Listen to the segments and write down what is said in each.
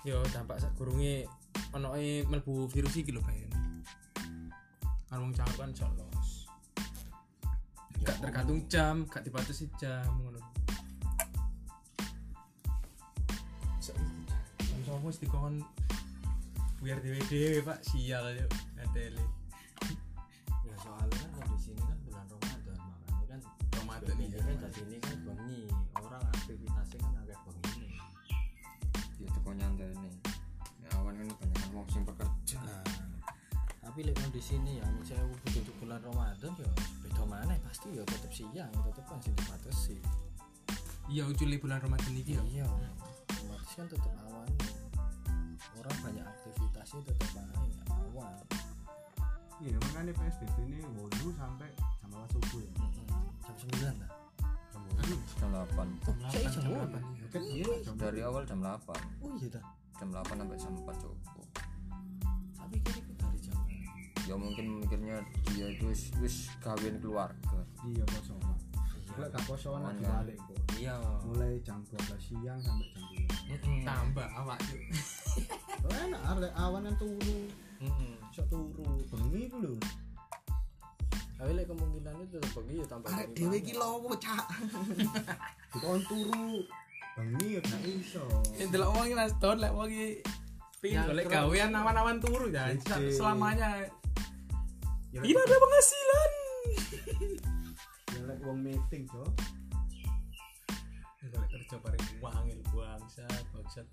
Yo dampak sadurunge onoke mlebu virus iki lho Ben. Kan wong cangkruk kan jolos. Gak tergantung jam, gak dibatasi jam ngono. Jam 9 mesti dikon biar dhewe Pak sial yo ngateli. Ya soalnya kan kondisi ini kan bulan Ramadan, makanya kan Ramadan ini kan jadi ini kan bengi, orang aktivitasnya kan agak bengi. Ya teko nyantene. Ya awan kan banyak wong sing bekerja. Tapi lek kondisi ini ya misalnya butuh bulan Ramadan ya beda maneh pasti ya tetep siang, tetep kan sing dibatasi. Iya ujule bulan Ramadan iki yo. Iya. Otomatis kan tetep awan. Orang banyak aktivitasnya tetep awan. Iya makanya PSBB ini 8 sampai jam 8 subuh ya. Jam 9 lah. Jam 8. Saya jam 8. Kan iya jam Dari awal jam 8. Oh iya dah. Jam 8 sampai jam 4 cukup. Tapi kira dari jam Ya mungkin mikirnya dia itu wis kawin keluarga. iya kosong. Lek gak kosong Aman, dibalik kok. iya. Mulai jam 12 siang sampai jam 2. Tambah awak yo. Oh enak arek awan yang turu. Sok turu bengi ku lho. Tapi lek kemungkinannya tetep bengi ya tambah. Arek dhewe iki lowo, Cak. Dikon turu bengi ya gak iso. Sing delok wong iki Mas Don lek wong iki pin Ya, golek keren. gawean awan-awan turu ya Jece. selamanya Ya, tidak ada penghasilan. ya lek wong meeting, Cok. Golek kerja bareng wangil bangsat.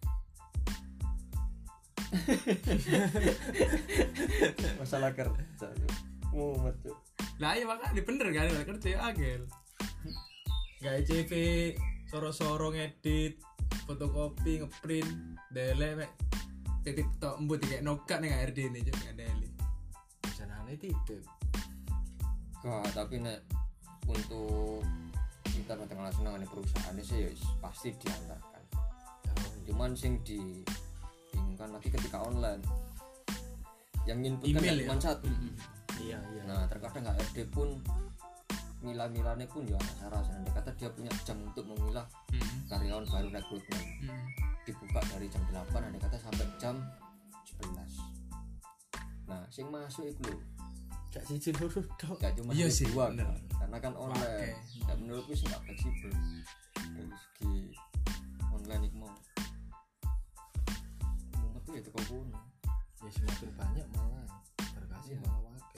Masalah kerja. Mumet tuh. Lah iya makanya bener kan golek kerja ya agel. Gawe CV, soro-soro ngedit, fotokopi, ngeprint, dele mek titip tok embut dikek nokat ning HRD ini juk ngandeli. Janane titip. Tapi nek untuk kita tengah senengane perusahaan sih ya pasti diantarkan. Cuman sing dibingungkan lagi ketika online yang input kan Email cuma ya? satu. Iya. Nah terkadang HRD pun milah-milahnya pun ya rasa dia kata dia punya jam untuk memilah karyawan baru rekrutmen dibuka dari jam 8 ada kata sampai jam 11. Nah sing masuk itu loh Gak siji loro tok. gak cuma Iya sih, dua bener. kan. Karena kan online dan menurutku sih gak fleksibel dari segi online itu mau mumet tuh itu kau pun Ya semakin banyak malah berkasih malah wake.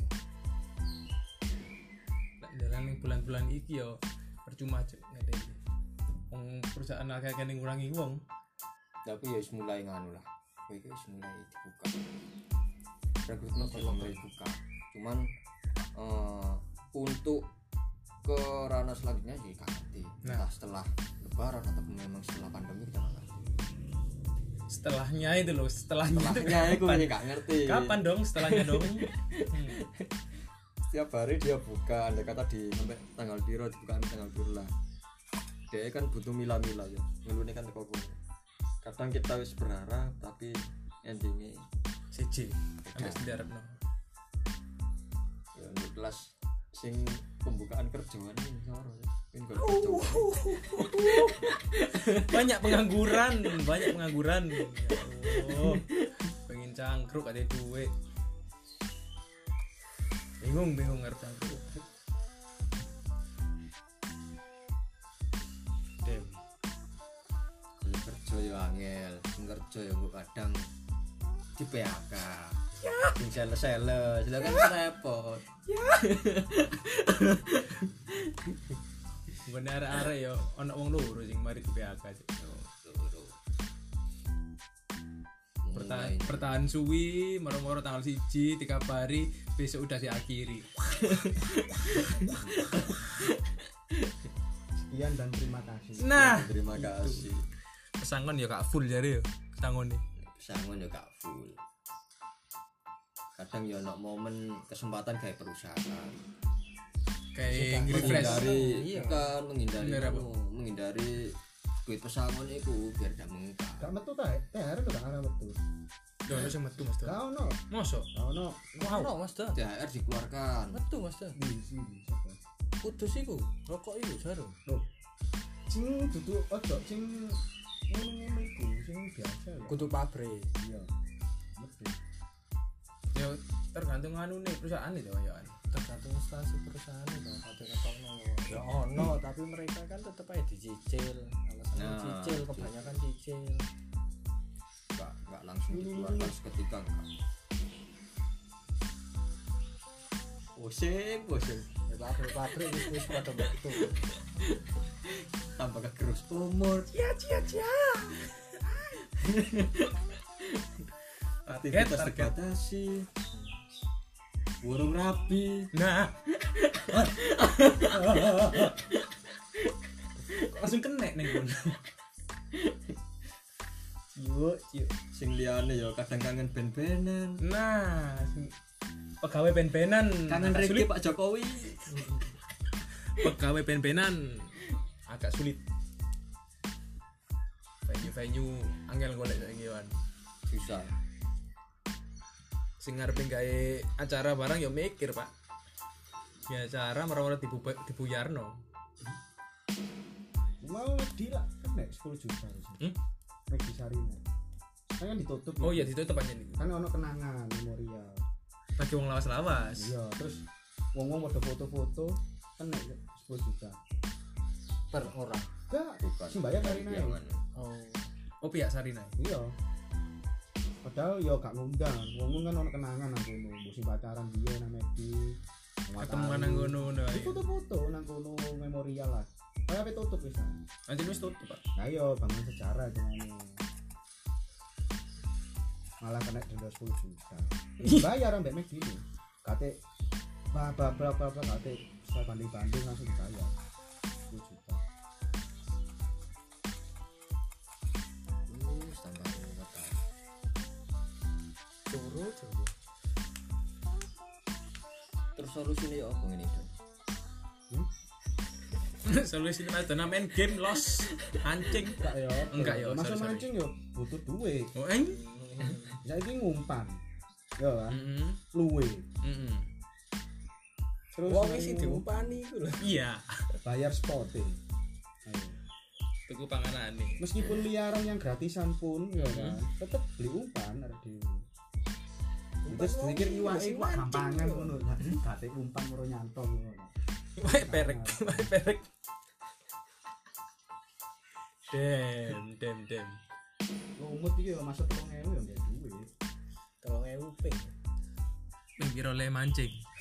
Lek dalan ning bulan-bulan iki yo percuma juk ngandeli. Wong perusahaan akeh ning ngurangi wong. tapi ya mulai nganu lah itu mulai dibuka rekrutmen sudah mulai dibuka cuman untuk ke ranah selanjutnya sih gak ngerti entah setelah lebaran atau memang setelah pandemi kita gak ngerti Setelahnya itu loh, setelahnya aku ini gak ngerti kapan dong setelahnya dong? setiap hari dia buka andai kata di sampai tanggal biru dibuka tanggal biru lah dia kan butuh mila-mila ya ngelune kan teko kono kadang kita wis berharap tapi endingnya CJ sampai sendarapno. ya untuk kelas sing pembukaan kerjaan ini soro ini gak kerja Banyak pengangguran. Ya Allah. Pengen cangkruk ada duit. Bingung ngerti cangkruk. Dem. kalau kerja ya angel sing kerja ya kok kadang di PHK sing sales kan repot Ngene arek-arek yo ana wong loro sing mari di PHK. Bertahan suwi, moro-moro tanggal 1 dikabari besok udah diakhiri. Sekian dan terima kasih. Nah, terima kasih pesangon ya gak full jare yo. Pesangon nih. pesangon ya gak full kadang ya ono momen kesempatan kayak perusahaan Kayak refresh. menghindari duit pesangon itu biar gak mengungkap Gak metu ta? THR lho gak arep metu. Yo ono sing metu Mas. Gak ono. Mosok? Gak ono. Wow, Mas Dan. THR dikeluarkan Metu Mas Dan. Di sini sapa? Kudus iku, rokok iku jarum. Loh. Sing duduk ojo sing ngono-ngono iku, sing biasa ya. kudu pabrik. Iya. Mesti. Ya tergantung anu nih perusahaan itu ya. Tergantung instansi perusahaan itu kate ketokno ya ono tapi mereka kan tetep aja dicicil. Alasannya Nah, cicil kebanyakan cicil. Enggak langsung dikeluarkan seketika enggak. Bosen. Ya pabrik wis pada waktu. Tambah kegerus umur. Aktivitas Target. terbatasi. Burung rapi. Nah. Langsung kena ning kono. Yuk. Sing liyane ya kadang kangen ben-benan. Nah, pegawai ben-benan Kangen agak Riki sulit. Pak Jokowi. Pegawai ben-benan agak sulit. Venue angel golek saiki wan. Susah. Sing ngarepe gawe acara barang ya mikir, Pak. Ya acara marah-marah dibuyarno. Mau di lah kan 10 juta sih. Di Sarina. Kan ditutup. Oh iya ditutup aja nih. Kan ono kenangan memorial. Bagi wong lawas-lawas. Iya, terus wong-wong pada foto-foto kan 10 juta. Per orang. Enggak, Bukan. sing bayar Sarina. Jangan. Oh pihak Sarina. Iya. Padahal yo gak ngundang. Wong kan ono kenangan nang kono, musim pacaran dia nang Medi. Ketemu nang ngono ngono Di ae. foto-foto nang kono memorial lah. Kayak apa tutup wis. Anjir wis tutup, Pak. Nah yo bangun sejarah dengan malah kena denda 10 juta. Bayar ambek Medi ini. Kate berapa kate saya banding-banding langsung dibayar 10 juta. Tambah ruwet. Curu. Terus solusinya ya apa ngene iki? Solusi itu main game loss anjing. Enggak yo. Masuk sorry. mancing yo butuh duit. Oh, Saiki ngumpan. Yo kan. Heeh. Luwe. Heeh. Terus Wong mari isi diupani iku lho. Iya. bayar spote. Ayo. Tuku panganane. Meskipun liaran yang gratisan pun ya kan, tetep beli umpan ada di. Terus sedikit iwake kok gampangan ngono. Gate umpan karo nyantol ngono. Wae perek. Dem. Lumut iki yo masuk 3000 yo ndek duit. 3000 ping. Ping piro le mancing?